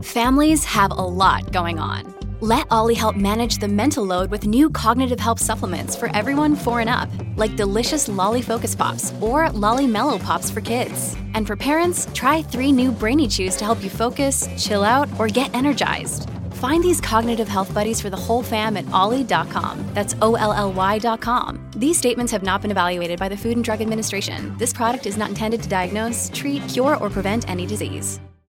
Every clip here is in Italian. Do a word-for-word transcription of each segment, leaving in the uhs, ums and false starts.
Families have a lot going on. Let Ollie help manage the mental load with new cognitive help supplements for everyone four and up, like delicious Lolly Focus Pops or Lolly Mellow Pops for kids. And for parents, try three new Brainy Chews to help you focus, chill out, or get energized. Find these cognitive health buddies for the whole fam at ollie dot com. That's O L L Y dot com. These statements have not been evaluated by the Food and Drug Administration. This product is not intended to diagnose, treat, cure, or prevent any disease.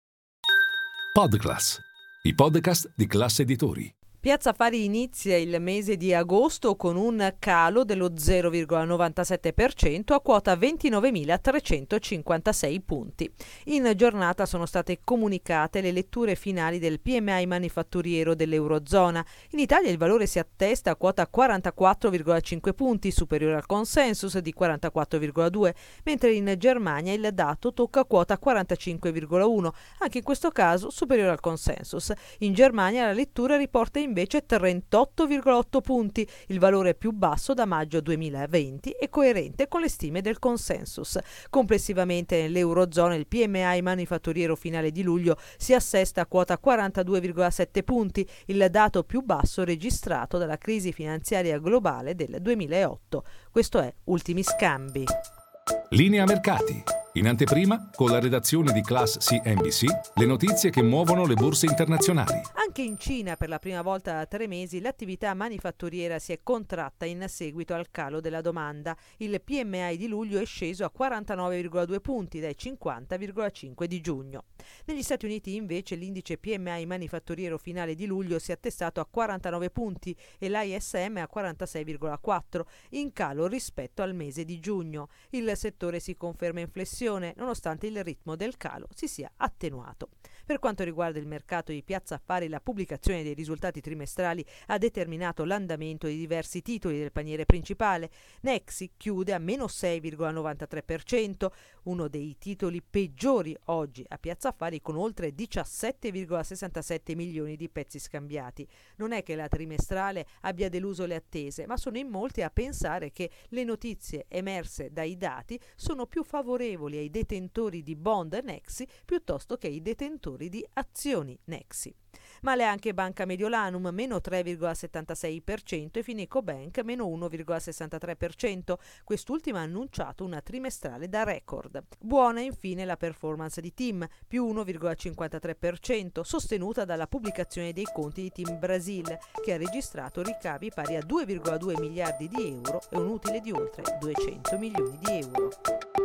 Podclass, i podcast di Class Editori. Piazza Affari inizia il mese di agosto con un calo dello zero virgola novantasette per cento a quota ventinovemilatrecentocinquantasei punti. In giornata sono state comunicate le letture finali del P M I manifatturiero dell'Eurozona. In Italia il valore si attesta a quota quarantaquattro virgola cinque punti, superiore al consensus di quarantaquattro virgola due, mentre in Germania il dato tocca quota quarantacinque virgola uno, anche in questo caso superiore al consensus. In Germania la lettura riporta in invece trentotto virgola otto punti, il valore più basso da maggio duemilaventi e coerente con le stime del consensus. Complessivamente nell'Eurozona il P M I manifatturiero finale di luglio si assesta a quota quarantadue virgola sette punti, il dato più basso registrato dalla crisi finanziaria globale del duemilaotto. Questo è Ultimi Scambi. Linea mercati. In anteprima, con la redazione di Class C N B C, le notizie che muovono le borse internazionali. Anche in Cina, per la prima volta da tre mesi, l'attività manifatturiera si è contratta in seguito al calo della domanda. Il P M I di luglio è sceso a quarantanove virgola due punti dai cinquanta virgola cinque di giugno. Negli Stati Uniti, invece, l'indice P M I manifatturiero finale di luglio si è attestato a quarantanove punti e l'I S M a quarantasei virgola quattro, in calo rispetto al mese di giugno. Il settore si conferma in flessione, nonostante il ritmo del calo si sia attenuato. Per quanto riguarda il mercato di Piazza Affari, la pubblicazione dei risultati trimestrali ha determinato l'andamento di diversi titoli del paniere principale. Nexi chiude a meno sei virgola novantatré per cento, uno dei titoli peggiori oggi a Piazza Affari, con oltre diciassette virgola sessantasette milioni di pezzi scambiati. Non è che la trimestrale abbia deluso le attese, ma sono in molti a pensare che le notizie emerse dai dati sono più favorevoli ai detentori di bond Nexi piuttosto che ai detentori di azioni Nexi. Male anche Banca Mediolanum, meno tre virgola settantasei per cento, e Finecobank, meno uno virgola sessantatré per cento. Quest'ultima ha annunciato una trimestrale da record. Buona infine la performance di TIM, più uno virgola cinquantatré per cento, sostenuta dalla pubblicazione dei conti di TIM Brasil, che ha registrato ricavi pari a due virgola due miliardi di euro e un utile di oltre duecento milioni di euro.